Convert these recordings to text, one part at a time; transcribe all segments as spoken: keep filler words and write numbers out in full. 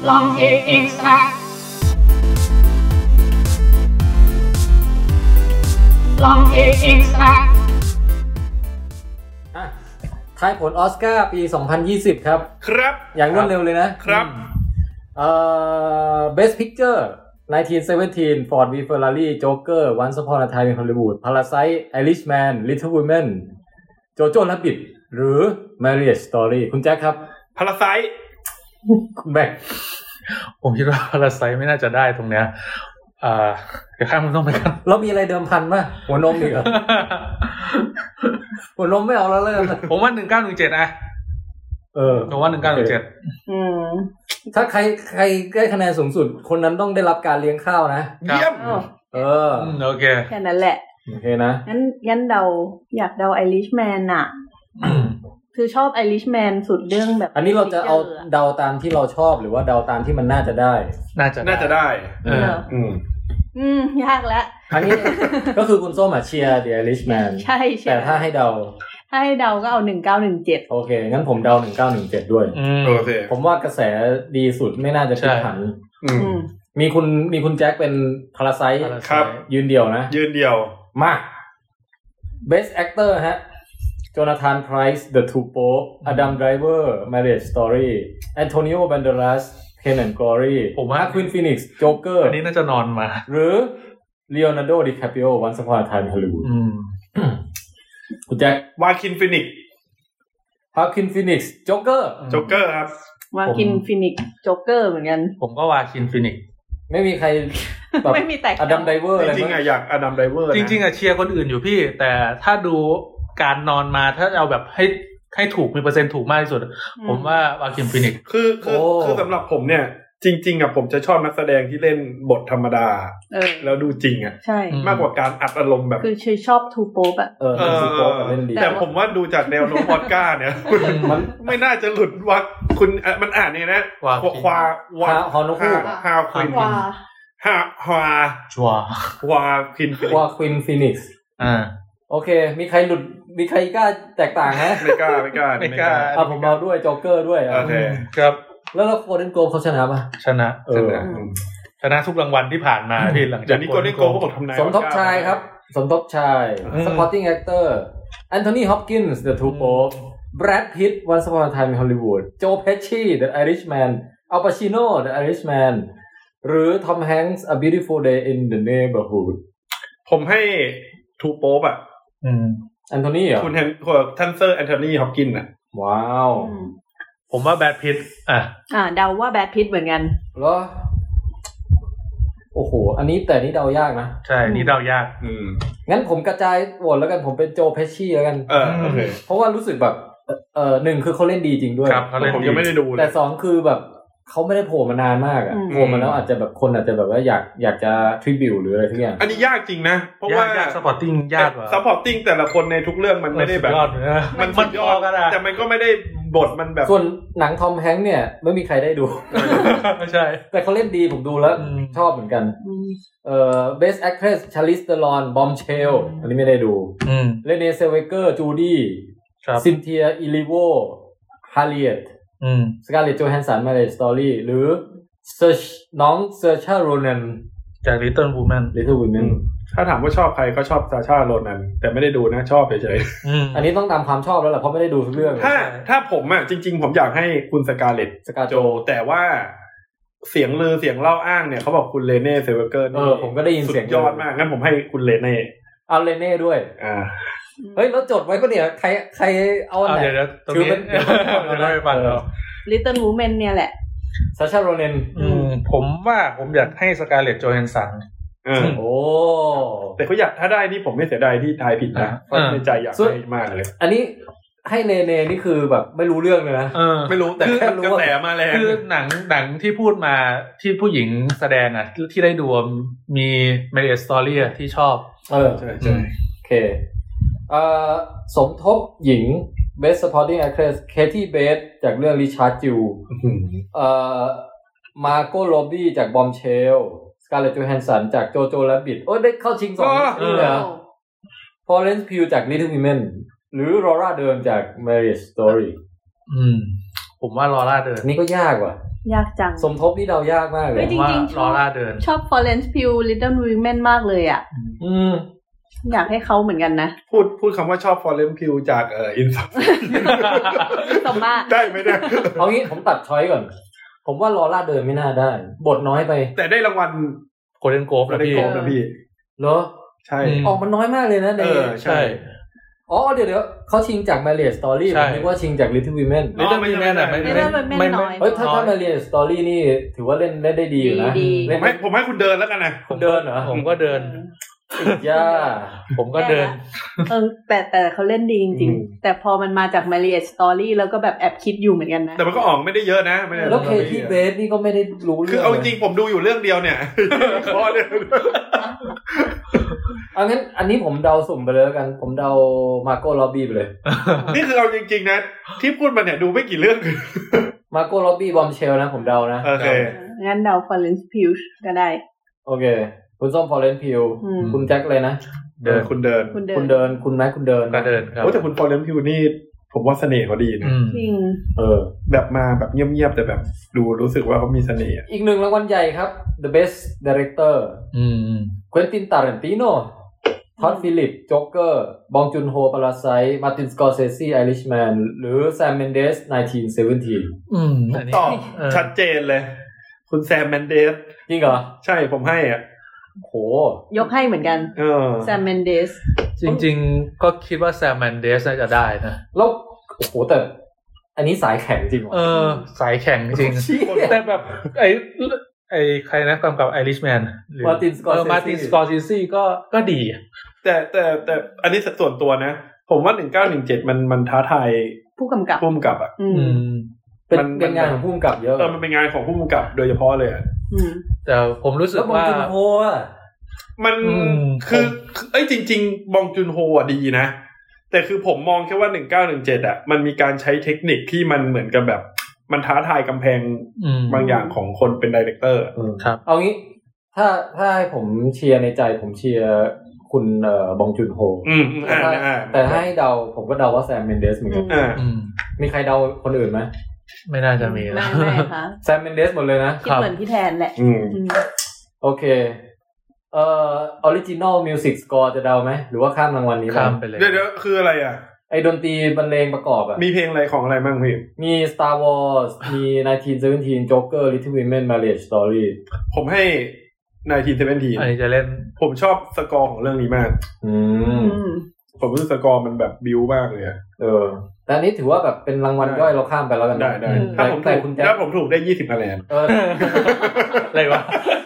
ลองเอเอ็กซ์ตร้าลองเอเอ็กซ์ตร้าทายผลออสการ์ปีสองพันยี่สิบครับครับอย่างรวดเร็วเลยนะครับเอ่อ Best Picture nineteen seventeen Ford v Ferrari Joker Once Upon a Time in Hollywood Parasite Irishman Little Women Jojo Rabbit หรือ Marriage Story คุณแจ็คครับ Parasite คุณแบ็คผมคิดว่า Parasite ไม่น่าจะได้ตรงเนี้ยอ่าเดี๋ยวข้ามมันต้องไปกันเรามีอะไรเดิมพันป่ะหัวนมอีกเหรอหัวนมไม่เอาแล้วเลยผมว่าหนึ่งเก้าหนึ่งเจ็ดอ่ะเออผมว่าหนึ่งเก้าหนึ่งเจ็ดอืมถ้าใครใครได้คะแนนสูงสุดคนนั้นต้องได้รับการเลี้ยงข้าวนะเยี่ยมเออโอเคแค่นั้นแหละโอเคนะงั้นงั้นเดาอยากเดา Irishman น่ะคือชอบ Irishman สุดเรื่องแบบอันนี้เราจะเอาเดาตามที่เราชอบหรือว่าเดาตามที่มันน่าจะได้น่าจะน่าจะได้เอออืมอืมยากแล้วอันนี้ก็คือคุณส้มอ่ะเชียร์ The Irishman ใช่ๆแต่ถ้าให้เดาถ้าให้เดาก็เอาหนึ่งเก้าหนึ่งเจ็ดโอเคงั้นผมเดาหนึ่งเก้าหนึ่งเจ็ดด้วยโอเคผมว่ากระแสดีสุดไม่น่าจะพลิกผันอืมมีคุณมีคุณแจ็คเป็น Parasite ครับยืนเดี่ยวนะยืนเดี่ยวมา Best Actor ฮะ Jonathan Pryce The Two Popes Adam Driver Marriage Story Antonio Banderas Pain and Glory ผมว่า Joaquin Phoenix Joker อันนี้น่าจะนอนมาหรือ Leonardo DiCaprio Once Upon a Time in Hollywood อืมคุณแจ็ค Joaquin Phoenix Joaquin Phoenix Joker Joker ครับ Joaquin Phoenix Joker เหมือนกันผมก็ Joaquin Phoenix ไม่มีใครไม่มีแตก Adam Driver จริงๆอ่ะอยาก Adam Driver จริงๆอ่ะเชียร์คนอื่นอยู่พี่แต่ถ้าดูการนอนมาถ้าเอาแบบให้ให้ถูกมีเปอร์เซ็นต์ถูกมากที่สุดผมว่า Joaquin Phoenix คือคือคือสำหรับผมเนี่ยจริงๆอ่ะผมจะชอบนักแสดงที่เล่นบทธรรมดาแล้วดูจริงอ่ะใช่มากกว่าการอัดอารมณ์แบบคือชอบทูโป๊ปอ่ะเออทูโป๊ปเล่นดีแต่ผมว่าดูจากแนวโน้มออสการ์เนี่ยมันไม่น่าจะหลุดว่าคุณมันอ่านนี่นะควาวาฮอนคูฮาควินฮาฮาชัววาควินวาควินฟินิกซ์อ่าโอเคมีใครหลุดมีใครกล้าแตกต่างฮะไม่กล้าไม่กล้าไม่กล้าอ่ะผมเอาด้วยโจ๊กเกอร์ด้วยโอเคครับแล้วแล้วโกลเด้นโกลบเขาชนะป่ะชนะเออชนะทุกรางวัลที่ผ่านมาพี่หลังจากนี้โกลเด้นโกลบเขาบอกทำนายสมทบชายครับสมทบชาย Supporting Actor Anthony Hopkins The Two Popes Brad Pitt Once Upon a Time in Hollywood Joe Pesci The Irishman Al Pacino The Irishman หรือ Tom Hanks A Beautiful Day in the Neighborhood ผมให้ Two Popes อ่ะอืมแอนโทนีเหรอคุณแฮนท่านเซอร์แอนโทนีฮอปกินส์อ่ะว้าวผมว่าแบดพิตอ่ะอ่าเดาว่าแบดพิตเหมือนกันเหรอโอ้โหอันนี้แต่นี่เดายากนะใช่นี่เดายากอืมงั้นผมกระจายโหวตแล้วกันผมเป็นโจเพชชี่แล้วกันเออโอเคเพราะว่ารู้สึกแบบเอ่อหนึ่งคือเขาเล่นดีจริงด้วยครับผมยังไม่ได้ดูแต่สองคือแบบเขาไม่ได้โผล่มานานมากอ่ะโผล่มาแล้วอาจจะแบบคนอาจจะแบบว่าอยากอยากจะทริบิวหรืออะไรทุกอย่างอันนี้ยากจริงนะเพราะว่ายากซัพพอร์ตติ้งยากกว่าซัพพอร์ตติ้งแต่ละคนในทุกเรื่องมันไม่ได้แบบมันมันยอดกันแต่มันก็ไม่ได้บทมันแบบส่วนหนังทอมแฮงค์เนี่ยไม่มีใครได้ดูใช่แต่เขาเล่นดีผมดูแล้วชอบเหมือนกันเอ่อ Best Actress Charlize Theron Bombshell อันนี้ไม่ได้ดูเรเนเซลเวเกอร์จูดี้ซินเทียอิลิโวฮาริเอตสการ์เล็ตโจแฮนสัน Marriage Story หรือเซอร์น้องเซอร์ชาโรนันจาก Little Women Little Women ถ้าถามว่าชอบใครก็ชอบซาชาโรนันแต่ไม่ได้ดูนะชอบเฉยๆอันนี้ต้องตามความชอบแล้วแหละเพราะไม่ได้ดูทุกเรื่องถ้าถ้าผมอ่ะจริงๆผมอยากให้คุณสการ์เล็ตสกาโจแต่ว่าเสียงลือเสียงเล่าอ้างเนี่ยเขาบอกคุณเรเน่เซลเวเกอร์เออผมก็ได้ยินเสียงยอดมากงั้นผมให้คุณเรเน่เอาเรเน่ด้วยอ่าเฮ้ยแล้วจดไว้ก็เนี่ยใครใครเอาอันไหนเดี๋ยวๆตรงนี้จะได้ฟังเรา Little Women เนี่ยแหละซาชาโรนันอืมผมว่าผมอยากให้สการ์เล็ตโจแฮนสันอืมโอ้แต่เขาอยากถ้าได้นี่ผมไม่เสียดายที่ทายผิดนะเพราะในใจอยากให้มากเลยอันนี้ให้เนเน่นี่คือแบบไม่รู้เรื่องเลยนะไม่รู้แต่แค่รู้กระแสมาแล้วคือหนังหนังที่พูดมาที่ผู้หญิงแสดงอ่ะที่ได้ดูมี Marriage Story ที่ชอบเออใช่ใช่โอเคเอ่อสมทบหญิง Best Supporting Actress Katie Bates จากเรื่อง Richard Jewell เอ่อ Margot Robbie จาก Bombshell Scarlett Johansson จาก Jojo Rabbit โอ้ได้เข้าชิงสองนี่เหรอ Florence Pugh จาก Little Women หรือ Laura Dern จาก Marriage Story อืมผมว่า Laura Dern นี่ก็ยากว่ะยากจังสมทบนี่เดายากมากเลยจริงๆชอบชอบ Florence Pugh Little Women มากเลยอ่ะอืมอยากให้เขาเหมือนกันนะพูดพูดคำว่าชอบ Florence Pugh จากเอ่อ Insomma สมมาได้ไหมเนี่ยเอางี้ผมตัดช้อยก่อนผมว่าลอร่าเดินไม่น่าได้บทน้อยไปแต่ได้รางวัล Golden Globe นะพี่นะพี่เหรอใช่ออกมันน้อยมากเลยนะเออใช่อ๋อเดี๋ยวๆเขาชิงจาก Marriage Story ผมนึกว่าชิงจาก Little Women Little Women อ่ะไม่ไม่ไม่เฮ้ยถ้าถ้า Marriage Story นี่ถือว่าเล่นเล่นได้ดีอยู่นะผมให้ผมให้คุณเดินแล้วกันนะคุณเดินเหรอผมก็เดินย่าผมก็เดินเออแต่แต่เขาเล่นดีจริงๆแต่พอมันมาจาก Marriage Story แล้วก็แบบแอบคิดอยู่เหมือนกันนะแต่มันก็ออกไม่ได้เยอะนะไม่ได้แล้วเคที่เบสนี่ก็ไม่ได้รู้เรื่องคือเอาจริงผมดูอยู่เรื่องเดียวเนี่ยพอเลยเอางั้นอันนี้ผมเดาสุ่มไปเลยแล้วกันผมเดามาโก้ล็อบบี้ไปเลยนี่คือเอาจริงๆนะที่พูดมาเนี่ยดูไม่กี่เรื่องมาโก้ล็อบบี้บอมเชลนะผมเดานะโอเคงั้นเดา Florence Pugh ก็ได้โอเคคุณส้ม Florence Pugh คุณแจ็คเลยนะเดินคุณเดินคุณเดินคุณแม็กคุณเดินก็เดินครับโอ้แต่คุณ Florence Pugh นี่ผมว่าเสน่ห์เขาดีนะจริงเออแบบมาแบบเงียบๆแต่แบบดูรู้สึกว่าเขามีเสน่ห์อีกหนึ่งรางวัลใหญ่ครับ The Best Director อืม Quentin Tarantino ท็อดฟิลิปโจ๊กเกอร์บองจุนโฮปาราไซต์มาร์ตินสกอร์เซซีไอริชแมนหรือแซมเมนเดสหนึ่งพันเก้าร้อยสิบเจ็ดอืมตอบชัดเจนเลยคุณแซมเมนเดสจริงเหรอใช่ผมให้อ่ะโหยกให้เหมือนกันเออแซมเมนเดสจริงๆก็คิดว่าแซมเมนเดสน่าจะได้นะแล้วโอ้โหแต่อันนี้สายแข็งจริงเหรอเออสายแข็งจริงแต่แบบไอ้ไอ้ใครนะกำกับไอริชแมนมาร์ตินสกอร์เซซีมาร์ตินสกอร์เซซีก็ก็ดีแต่แต่แต่อันนี้ส่วนตัวนะผมว่าหนึ่งพันเก้าร้อยสิบเจ็ดมันมันท้าทายผู้กำกับผู้กำกับอ่ะอืมเป็นเป็นงานของผู้กำกับเยอะเออมันเป็นงานของผู้กำกับโดยเฉพาะเลยอ่ะอืมแต่ผมรู้สึกว่าบองจุนโฮอ่ะมันคือเอ้ยจริงๆบองจุนโฮอ่ะดีนะแต่คือผมมองแค่ว่าหนึ่งพันเก้าร้อยสิบเจ็ดอ่ะมันมีการใช้เทคนิคที่มันเหมือนกับแบบมันท้าทายกำแพงบางอย่างของคนเป็นไดเรคเตอร์ครับเอางี้ถ้าถ้าให้ผมเชียร์ในใจผมเชียร์คุณเอ่อบองจุนโฮอืมอ่าแต่ให้เดาผมก็เดาว่าแซมเมนเดสเหมือนกันอืมมีใครเดาคนอื่นไหมไม่น่าจะมีนะไม่ไม่ค่ะแซมเมนเดสหมดเลยนะคิดเหมือนพี่แทนแหละอืมโอเคเอ่อออริจินอลมิวสิกสกอร์จะเดาไหมหรือว่าข้ามรางวัลนี้ข้ามไปเลยเดี๋ยวๆคืออะไรอ่ะไอ้ดนตรีบรรเลงประกอบอ่ะมีเพลงอะไรของอะไรบ้างพี่มี Star Wars มี หนึ่งพันเก้าร้อยสิบเจ็ด Joker Little Women Marriage Story ผมให้หนึ่งพันเก้าร้อยสิบเจ็ดอันนี้จะเล่นผมชอบสกอร์ของเรื่องนี้มากอืมผมรู้สึกสกอร์มันแบบบิ้วมากเลยเออแต่อันนี้ถือว่าแบบเป็นรางวัลย่อยเราข้ามไปแล้วกันได้ได้ถ้าผมถูกถ้าผมถูกได้ยี่สิบคะแนนเอออะไรวะ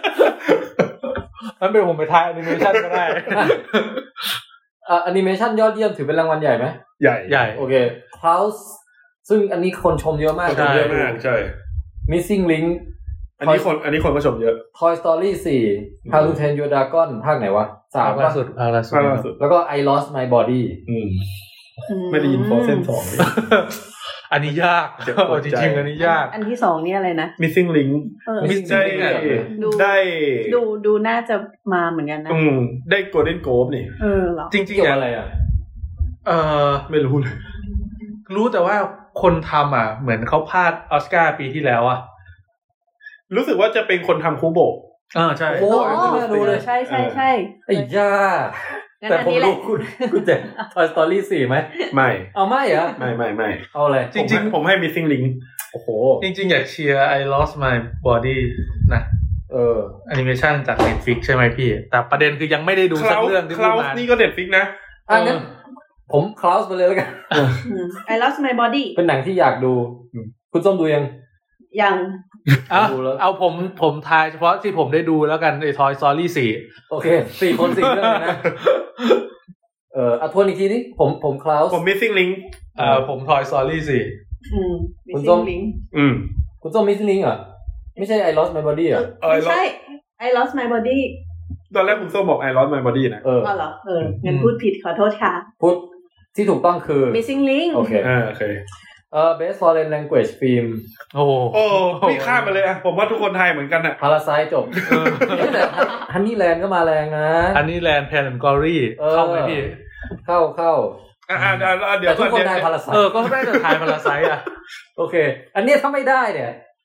มันเป็นผมไปทายแอนิเมชั่นก็ได้อ่ะแอนิเมชั่นยอดเยี่ยมถือเป็นรางวัลใหญ่ไหมใหญ่ใหญ่โอเค Klaus ซึ่งอันนี้คนชมเยอะมากเยอะมากใช่ Missing Link อันนี้คนอันนี้คนก็ชมเยอะ Toy Story สี่ How to Train Your Dragon ภาคไหนวะสามล่าสุดภาคล่าสุดแล้วก็ I Lost My Body อืมไม่ได้ยิน Frozen สองอันนี้ยากจริงๆอันนี้ยากอันที่สองนี่อะไรนะ Missing Link ได้ได้ดูดูน่าจะมาเหมือนกันนะอืมได้ Golden Globe นี่เออเหรอจริงๆอะไรอ่ะเออไม่รู้เลยรู้แต่ว่าคนทำอ่ะเหมือนเขาพลาดออสการ์ปีที่แล้วอ่ะรู้สึกว่าจะเป็นคนทำคูโบะอ่าใช่โอ้ดูเลยใช่ใช่ใช่ไอ้ย่าแต่ผมรู้คุณคุณเจ็บ Toy Story สี่ไหมไม่เอาไม่เหรอไม่ไม่ไม่เอาเลยจริงๆผมให้ Missing Link โอ้โหจริงๆอยากเชียร์ I Lost My Body นะเออแอนิเมชั่นจาก Netflix ใช่ไหมพี่แต่ประเด็นคือยังไม่ได้ดูสักเรื่องที่พูดมานี่ก็ Netflix นะอ่ะงั้นผมคลาสไปเลยแล้วกัน I Lost My Body เป็นหนังที่อยากดูคุณส้มดูยังยังเอาเอาผมผมทายเฉพาะที่ผมได้ดูแล้วกันไอ้ Toy Story สี่โอเคสี่คนสี่เรื่องนะเอ่ออ่ะทวนอีกทีนี่ผมผมคลาสผม Missing Link เอ่อผม Toy Story สี่อืม Missing Link อืมคุณส้ม Missing Link อ่ะไม่ใช่ I Lost My Body อ่ะไม่ใช่ I Lost My Body ตอนแรกคุณส้มบอก I Lost My Body นะเอออ๋อเหรอเอองั้นพูดผิดขอโทษค่ะพูดที่ถูกต้องคือ Missing Link โอเคอ่าโอเคเอ่อ Best Foreign Language Film โอ้โอ้พี่ข้ามไปเลยอ่ะผมว่าทุกคนไทยเหมือนกันอ่ะ Parasite จบแต่ Honeyland ก็มาแรงนะ Honeyland Pan and Glory เข้าไหมพี่เข้าเข้าอ่าๆเดี๋ยวทุกคนได้ Parasite เออก็ได้แต่ทาย Parasite อ่ะโอเคอันนี้ถ้าไม่ได้เนี่ย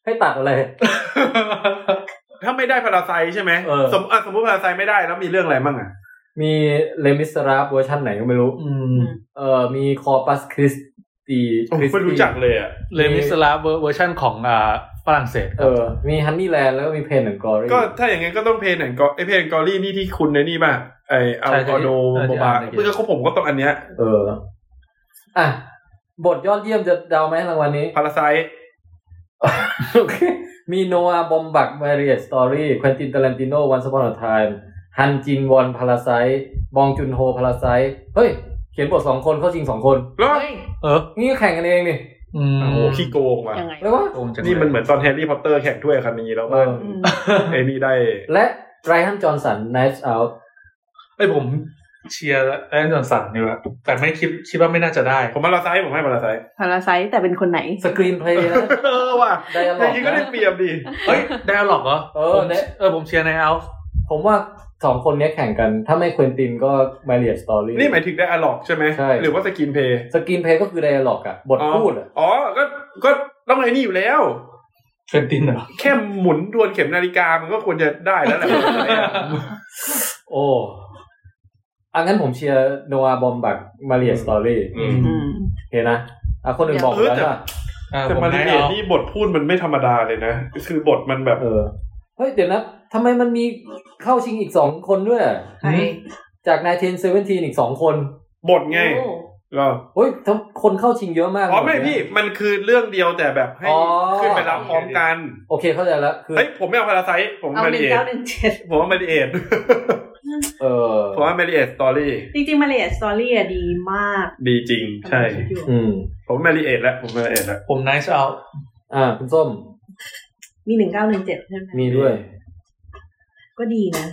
ให้ตัดอะไรถ้าไม่ได้พาราไซใช่ไหมสมมติสมมติพาราไซไม่ได้แล้วมีเรื่องอะไรบ้างอ่ะมีเลมิสราฟเวอร์ชันไหนก็ไม่รู้เออมีคอปัสคริสตีไม่รู้จักเลยอ่ะเลมิสราฟเวอร์ชันของอ่าฝรั่งเศสเออมีฮันนี่แลนด์แล้วก็มีเพนแอนด์กอรี่ก็ถ้าอย่างงั้นก็ต้องเพนแอนด์กอไอเพนแอนด์กอรี่นี่ที่คุณในนี่ป่ะไออัลกอโดโบบาเพื่อเขาผมก็ต้องอันเนี้ยเอออ่ะบทยอดเยี่ยมจะเดาไหมรางวัลนี้พาราไซโอเคมีโนอาบอมบักมาริเอตสตอรี่ควินตินตารันติโนวันซัปอนอไทม์ฮันจินวอนพาราไซบองจุนโฮพาราไซเฮ้ยเขียนบทสองคนเข้าชิงสองคนเฮ้ยเออนี่ก็แข่งกันเองนี่อืมโอ้โหขี้โกงว่ะแล้วว่านี่มันเหมือนตอนแฮร์รี่พอตเตอร์แข่งถ้วยคานีแล้วว่าไอ้นี่ได้และไรอันจอห์นสัน Knives Out ไอ้ผมเชียร์ไรอันจอห์นสันนี่แหละแต่ไม่คิดคิดว่าไม่น่าจะได้ผมพาราไซผมให้พาราไซพาราไซแต่เป็นคนไหนสกรีนเพลย์นะเออว่ะไดอะล็อกจริงก็ได้เปรียบดิเฮ้ยไดอะล็อกเหรอเออเออผมเชียร์ในเอาผมว่าสองคนนี้แข่งกันถ้าไม่ควินตินก็มาเรียสตอรี่นี่หมายถึงไดอะล็อกใช่ไหมหรือว่าสกรีนเพลย์สกรีนเพลย์ก็คือไดอะล็อกอะบทพูดอะอ๋อก็ก็ต้องไอ้นี่อยู่แล้วควินตินเหรอแค่หมุนทวนเข็มนาฬิกามันก็ควรจะได้แล้วแหละโอ้อังั้นผมเชียร์โนอาบอมบักมาเรียสตอรี่เห็นนะอ่ะคนอื่นบอกแล้วว่าแต่มาเรียนี่บทพูดมันไม่ธรรมดาเลยนะคือบทมันแบบเออเฮ้ยเดี๋ยวนะทำไมมันมีเข้าชิงอีกสองคนด้วยจากไนน์ทีนเซเวนทีนอีกสองคนบทไงก็เฮ้ยคนเข้าชิงเยอะมากอ๋อไม่พี่มันคือเรื่องเดียวแต่แบบให้ขึ้นไปรับพร้อมกันโอเคเข้าใจแล้วคือเฮ้ยผมไม่เอาพาราไซผมมาริเอทผมว่ามาริเอทเออผมว่ามาริเอทสตอรี่จริงๆมาริเอทสตอรี่อะดีมากดีจริงใช่อืมผมมาริเอทแล้วผมมาริเอทแล้วผมไนซ์เอาอ่าคุณส้มมีหนึ่งเก้าหนึ่งเจ็ดใช่ไหมมีด้วยก็ดีนะ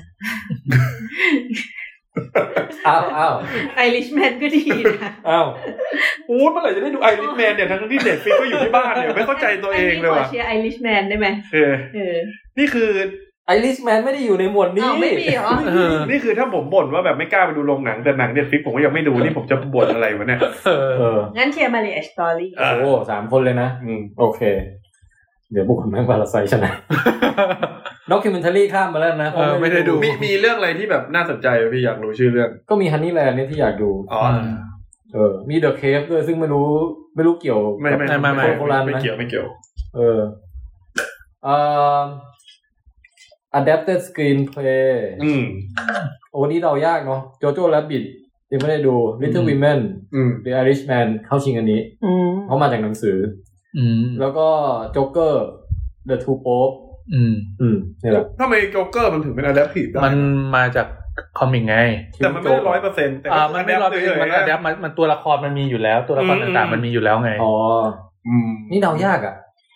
อ้าวอ้าวไอริชแมนก็ดีนะอ้าวโอ้เมื่อไหร่จะได้ดูไอริชแมนเนี่ยทั้งที่เน็ตฟลิกซ์ก็อยู่ที่บ้านเนี่ยไม่เข้าใจตัวเองเลยว่ะเชียร์ไอริชแมนได้ไหมเออเออนี่คือไอริชแมนไม่ได้อยู่ในหมวดนี้ไม่มีเหรอนี่คือถ้าผมบ่นว่าแบบไม่กล้าไปดูโรงหนังแต่หนังเน็ตฟลิกซ์ผมก็ยังไม่ดูนี่ผมจะบ่นอะไรวะเนี่ยเอองั้นเชียร์มาริเอทสตอรี่โอ้สามคนเลยนะอืมโอเคเดี๋ยวบุกคนแม่งพาราไซชนะด็อกคิวเมนทารี่ข้ามมาแล้วนะไม่ได้ดูมีมีเรื่องอะไรที่แบบน่าสนใจพี่อยากรู้ชื่อเรื่องก็มีฮันนี่แลนด์นี่ที่อยากดูอ๋อเออมีเดอะเคฟด้วยซึ่งไม่รู้ไม่รู้เกี่ยวไม่ไม่ไม่ไม่ไม่เกี่ยวไม่เกี่ยวเอออ่า adapted screenplay อืมโอ้นี่เรายากเนาะโจโจ้แรบบิทยังไม่ได้ดู Little Women The Irishman เข้าชิงอันนี้เพราะมาจากหนังสือแล้วก็โจ๊กเกอร์ The Two Pope อืมอืมนี่แหละทำไมโจ๊กเกอร์มันถึงเป็น adaptive มันมาจากคอมิกไงแต่มันไม่ได้ ร้อยเปอร์เซ็นต์ แต่มันไม่ ร้อยเปอร์เซ็นต์ มัน adapt มันมันตัวละครมันมีอยู่แล้วตัวละครต่างๆมันมีอยู่แล้วไงอ๋ออืมนี่เดายากอ่ะ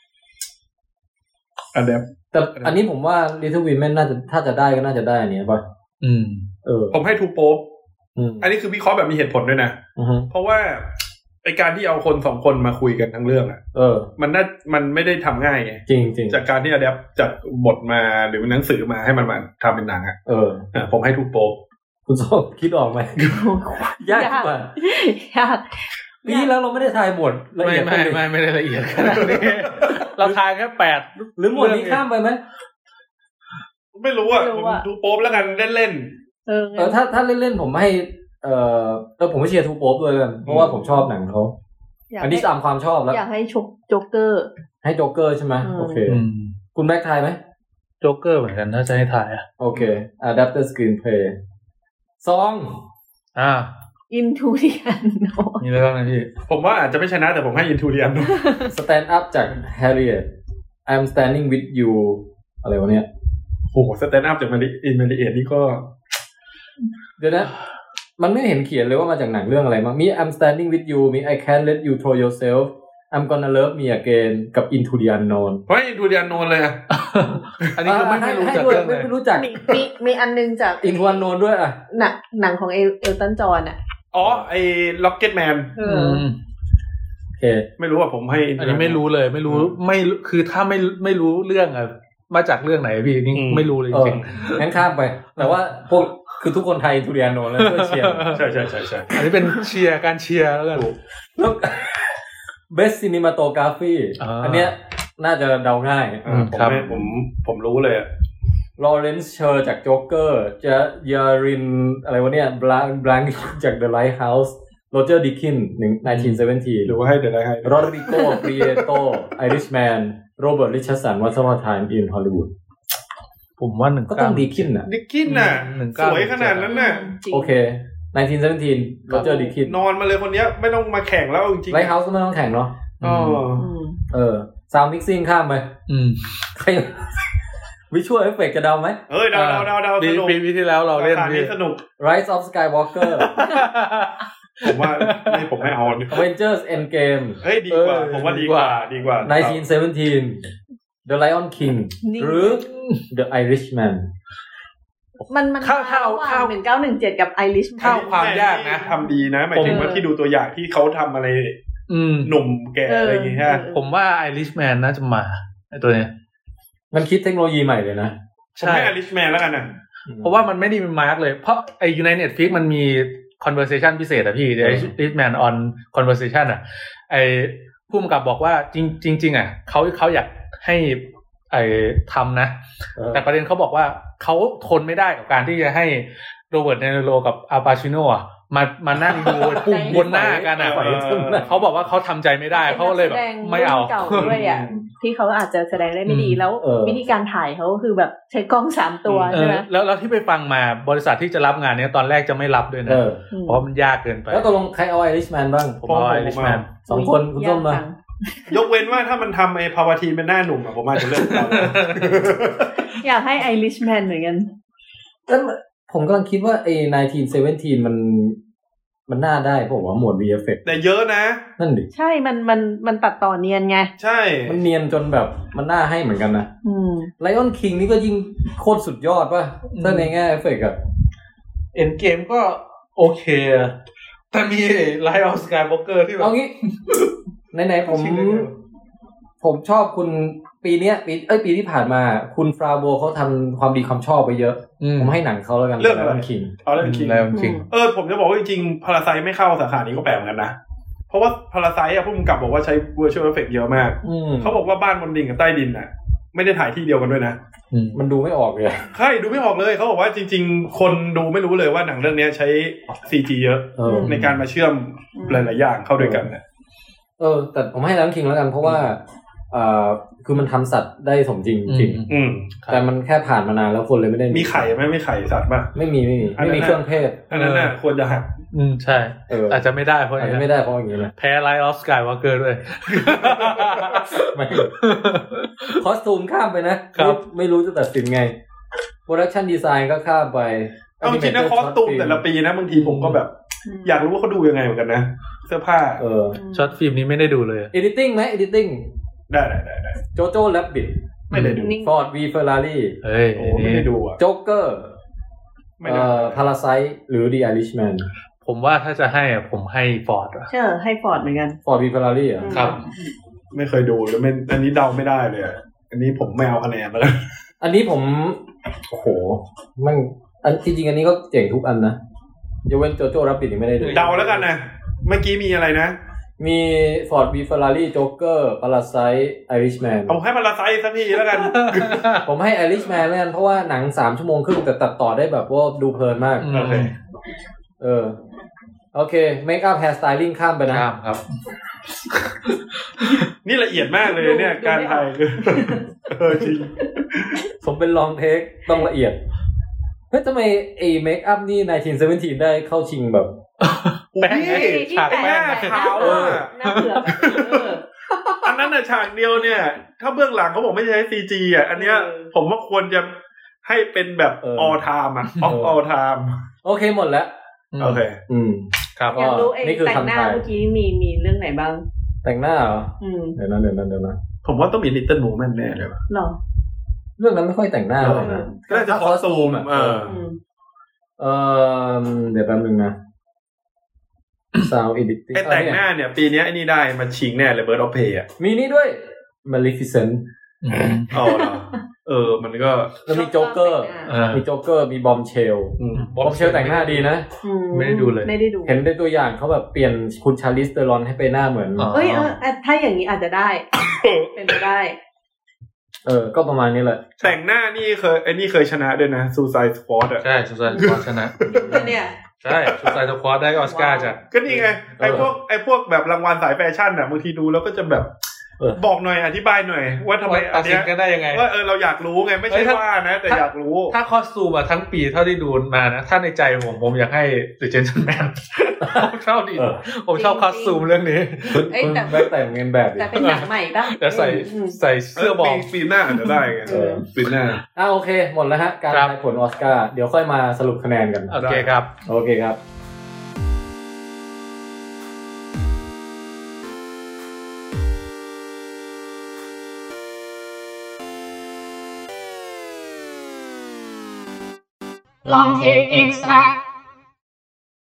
adapt แต่อันนี้ผมว่า Little Women น่าจะถ้าจะได้ก็น่าจะได้อันนี้ป่ะอืมเออผมให้ Two Pope อันนี้คือวิเคราะห์แบบมีเหตุผลด้วยนะเพราะว่าไอการที่เอาคนสองคนมาคุยกันทั้งเรื่องอ่ะเออมันน่ามันไม่ได้ทำง่ายไงจริงจริงจากการที่อะแดปจากบทมาหรือหนังสือมาให้มันมาทำเป็นหนังอ่ะเออผมให้ทุกโป๊กคุณส้มคิดออกไหมยากกว่ายากปีแล้วเราไม่ได้ทายบทละเอียดไม่ไม่ไม่ได้ละเอียดขนาดนี้เราทายแค่แปดหรือหมวดนี้ข้ามไปไหมไม่รู้อ่ะผมดูโป๊ปแล้วกันเล่นๆเออถ้าถ้าเล่นๆผมให้เอ่อแต่ผมไม่เชียร์ทูโป๊ปด้วยกันเพราะว่าผมชอบหนังเขาอันนี้ตามความชอบแล้วอยากให้ชกโจ๊กเกอร์ให้โจ๊กเกอร์ใช่ไหมโอเคคุณแม็กทายไหมโจ๊กเกอร์เหมือนกันถ้าจะให้ทายอ่ะโอเค adapted screenplay สองอ่า Into the Unknown มีอะไรบ้างนะพี่ผมว่าอาจจะไม่ชนะแต่ผมให้ Into the Unknown Stand Up จาก Harriet I'm Standing with You อะไรวะเนี่ยโอ้โห Stand Up จาก Harriet นี่ก็เดี๋ยวนะมันไม่เห็นเขียนเลยว่ามาจากหนังเรื่องอะไรมั้งมี I'm Standing with You มี I Can't Let You Throw Yourself I'm Gonna Love Me Again กับ Into the Unknown เฮ้ย Into the Unknown เลยอ่ะอันนี้คือไม่รู้จักเรื่องเลยไม่รู้จักมีมีอันนึงจาก Into the Unknown ด้วยอ่ะหนังหนังของเอลตันจอห์นอ่ะอ๋อไอ้ Rocketman เออโอเคไม่รู้อ่ะผมให้อันนี้ไม่รู้เลยไม่รู้ไม่คือถ้าไม่ไม่รู้เรื่องอ่ะมาจากเรื่องไหนพี่นี่ไม่รู้เลยจริงๆงั้นข้ามไปแต่ว่าพวกคือทุกคนไทยทูเรียนโนแล้วช่วยเชียร์ใช่ใช่ใช่ใช่อันนี้เป็นเชียร์การเชียร์แล้วกันแล้ว Best Cinematography อันเนี้ยน่าจะเดาง่ายอ่าผมไม่ผมผมรู้เลยอะลอเรนซ์เชอร์จากโจ๊กเกอร์จะยารินอะไรวะเนี่ยบลังบลังจาก The Lighthouse โรเจอร์ดิคินหนึ่งพันเก้าร้อยสิบเจ็ดหรือว่าให้ The Lighthouse โรดริโกปรีเอโตไอริชแมนโรเบิร์ตริชาร์ดสัน Once Upon a Time in Hollywood ผมว่าหนึ่งก็ต้องดิคินน่ะดิคินน่ะสวยขนาดนั้นน่ะโอเคหนึ่งพันเก้าร้อยสิบเจ็ดโรเจอร์ดิคินนอนมาเลยคนเนี้ยไม่ต้องมาแข่งแล้วจริงๆ Lighthouse ก็ไม่ต้องแข่งเนาะอ๋อเออซาวด์มิกซิ่งข้ามไปอืมใครวิชวลเอฟเฟคจะเดาไหมเอ้ยเดาเดาเดาเดาสนุกปีที่แล้วเราเล่นสนุก Rise of Skywalker ผมว่าไม่ผมไม่เอา Avengers Endgame เฮ้ยดีกว่าผมว่าดีกว่าดีกว่าหนึ่งพันเก้าร้อยสิบเจ็ด The Lion King หรือ The Irishman มันมันเข้าเข้าเข้าหนึ่งพันเก้าร้อยสิบเจ็ดกับ Irishman เข้าความยากนะทำดีนะหมายถึงว่าที่ดูตัวอย่างที่เขาทำอะไรหนุ่มแก่อะไรอย่างเงี้ยผมว่า Irishman น่าจะมาไอ้ตัวเนี้ยมันคิดเทคโนโลยีใหม่เลยนะผมให้ Irishman แล้วกันนะเพราะว่ามันไม่ได้มีมาร์กเลยเพราะไอ้อยู่ใน Netflix มันมี conversation พิเศษอะพี่ Irishman on conversation อะไอ้ผู้กำกับบอกว่าจริงจริงๆอะเขาเขาอยากให้ไอ้ทำนะแต่ประเด็นเขาบอกว่าเขาทนไม่ได้กับการที่จะให้โรเบิร์ตเดนิโรกับอัลปาชิโน่อะมามานั่งดูปุ่มบนหน้ากันอ่ะเขาบอกว่าเขาทำใจไม่ได้เขาเลยแบบไม่เอาเก่าด้วยอ่ะที่เขาอาจจะแสดงได้ไม่ดีแล้ววิธีการถ่ายเขาคือแบบใช้กล้องสามตัวใช่ไหมแล้วแล้วที่ไปฟังมาบริษัทที่จะรับงานนี้ตอนแรกจะไม่รับด้วยนะเพราะมันยากเกินไปแล้วตกลงใครเอาไอริชแมนบ้างผมเอาไอริชแมนสองคนคุณส้มมายกเว้นว่าถ้ามันทำไอ้พาวาทีเป็นหน้าหนุ่มอ่ะผมอาจจะเลือกเขาอยากให้ไอริชแมนเหมือนกันแล้วผมกำลังคิดว่าไอ้หนึ่งพันเก้าร้อยสิบเจ็ดมันมันน่าได้ผมว่าหมวด วี เอฟ เอ็กซ์แต่เยอะนะนั่นดิใช่มันมันมันตัดต่อเนียนไงใช่มันเนียนจนแบบมันน่าให้เหมือนกันนะอืม Lion King นี่ก็ยิ่งโคตรสุดยอดป่ะถ้าในแง่เอฟเฟกต์อ่ะ Endgame ก็โอเคแต่มี Rise of Skywalker ที่แบบเอางี้ไหนๆผมผมชอบคุณปีเนี้ยปีเอ้ยปีที่ผ่านมาคุณฟราโบเขาทำความดีความชอบไปเยอะผมให้หนังเขาแล้วกันเรื่องอะไรคิงเอาเรื่องคิง King เออผมจะบอกว่าจริงๆ Parasite ไม่เข้าสาขานี้ก็แปลกเหมือนกันนะเพราะว่า Parasite อ่ะผู้กำกับบอกว่าใช้ Virtual Effect เยอะมากเขาบอกว่าบ้านบนดินกับใต้ดินน่ะไม่ได้ถ่ายที่เดียวกันด้วยนะมันดูไม่ออกเลยใช่ดูไม่ออกเลยเขาบอกว่าจริงๆคนดูไม่รู้เลยว่าหนังเรื่องนี้ใช้ ซี จี เยอะในการมาเชื่อมหลายๆอย่างเข้าด้วยกันเนี่ยเออแต่ผมให้ Lion King แล้วกันเพราะว่าอ่าคือมันทำสัตว์ได้สมจริงจริงแต่มันแค่ผ่านมานานแล้วคนเลยไม่ได้มีไข่ไหมไม่ไข่สัตว์ป่ะไม่มีไม่มีไม่มีเครื่องเทศอันนั้นน่ะควรจะหักอืมใช่อาจจะไม่ได้เพราะอาจจะไม่ได้เพราะอย่างนี้นะแพ้ Rise of Skywalker ด้วยไม่คอสตูมข้ามไปนะครับไม่รู้จะตัดสินไงโปรดักชันดีไซน์ก็ข้ามไปเอาจริงนะคอสตูมแต่ละปีนะบางทีผมก็แบบอยากรู้ว่าเขาดูยังไงเหมือนกันนะเสื้อผ้าเออช็อตฟิล์มนี้ไม่ได้ดูเลย editing ไหม editing ได้ได้ได้ได้โจโจ้แรบบิทไม่ได้ดูฟอร์ดวีเฟอร์รารี่เฮ้ยโอ้ไม่ได้ดูอ่ะโจ๊กเกอร์เอ่อพาราไซต์หรือดีไอริชแมนผมว่าถ้าจะให้อ่ะผมให้ฟอร์ดอ่ะใช่ให้ฟอร์ดเหมือนกันฟอร์ดวีเฟอร์รารี่อ่ะครับไม่เคยดูแล้วไม่อันนี้เดาไม่ได้เลยอันนี้ผมไม่เอาคะแนนแล้วอันนี้ผมโอ้โหมันอันจริงๆอันนี้ก็เจ๋งทุกอันนะยกเว้นโจโจ้แรบบิทนี่ไม่ได้ดูเดาแล้วกันนะเมื่อกี้มีอะไรนะมี Ford V Ferrari Joker Parasite Irishman ผมให้ Parasite สักทีแล้วกันผมให้ Irishman แล้วกันเพราะว่าหนังสามชั่วโมงครึ่งแต่ตัดต่อได้แบบว่าดูเพลินมากโอเคเออโอเค Make up Hair Styling ข้ามไปนะข้ามครับนี่ละเอียดมากเลยเนี่ยการถ่ายคือเออจริงผมเป็นลองเทคต้องละเอียดเฮ้ยทำไมไอ้ Make up นี่หนึ่งพันเก้าร้อยสิบเจ็ดได้เข้าชิงแบบแป้งฉากแป้งขาวอ่ะน่าเบื่ออันนั้นน่ะฉากเดียวเนี่ยถ้าเบื้องหลังเขาบอกไม่ใช้ ซี จี อ่ะอันเนี้ยผมว่าควรจะให้เป็นแบบ all time อ่ะ of all time โอเคหมดแล้วโอเคอืมครับอยากรู้ไอ้แต่งหน้าเมื่อกี้มีมีเรื่องไหนบ้างแต่งหน้าเหรอเดี๋ยวนะเดี๋ยวนะเดี๋ยวนะผมว่าต้องมี Little Women แน่เลยว่ะหรอเรื่องนั้นไม่ค่อยแต่งหน้าเลยนะก็จะคอสตูมอ่ะเออเออเดี๋ยวแป๊บนึงนะSound editing ไอ้แต่งหน้าเนี่ยปีนี้ไอ้นี่ได้มาชิงแน่เลย Bird of Prey อ่ะมีนี่ด้วย Maleficent อ๋อเหรอเออมันก็แล้วมีโจ๊กเกอร์มีโจ๊กเกอร์มีบอมเชลบอมเชลแต่งหน้าดีนะไม่ได้ดูเลยไม่ได้ดูเห็นในตัวอย่างเขาแบบเปลี่ยนคุณชาลิสเตอรอนให้ไปหน้าเหมือนเอ้ยเออถ้าอย่างนี้อาจจะได้เป็นไปได้เออก็ประมาณนี้แหละแต่งหน้านี่เคยไอ้นี่เคยชนะด้วยนะ Suicide Squad อ่ะใช่ Suicide Squad ชนะเนี่ยใช่ Suicide Squad ได้ออสการ์จ้ะก็นี่ไงไอ้พวกไอ้พวกแบบรางวัลสายแฟชั่นน่ะบางทีดูแล้วก็จะแบบบอกหน่อยอธิบายหน่อยว่าทำไมอันเนี้ยก็ได้ยังไงว่าเออเราอยากรู้ไงไม่ใช่ว่านะแต่อยากรู้ถ้าคอสตูมอะทั้งปีเท่าที่ดูมานะถ้าในใจผมผมอยากให้ The Gentleman ผมชอบดีผมชอบคอสตูมเรื่องนี้คุณแบ็คแต่งเงินแบบแต่เป็นหนังใหม่ป่ะแต่ใส่ใส่เสื้อบอลปีหน้าอาจจะได้ไงปีหน้าอ่ะโอเคหมดแล้วฮะการทายผลออสการ์เดี๋ยวค่อยมาสรุปคะแนนกันโอเคครับโอเคครับ Long extra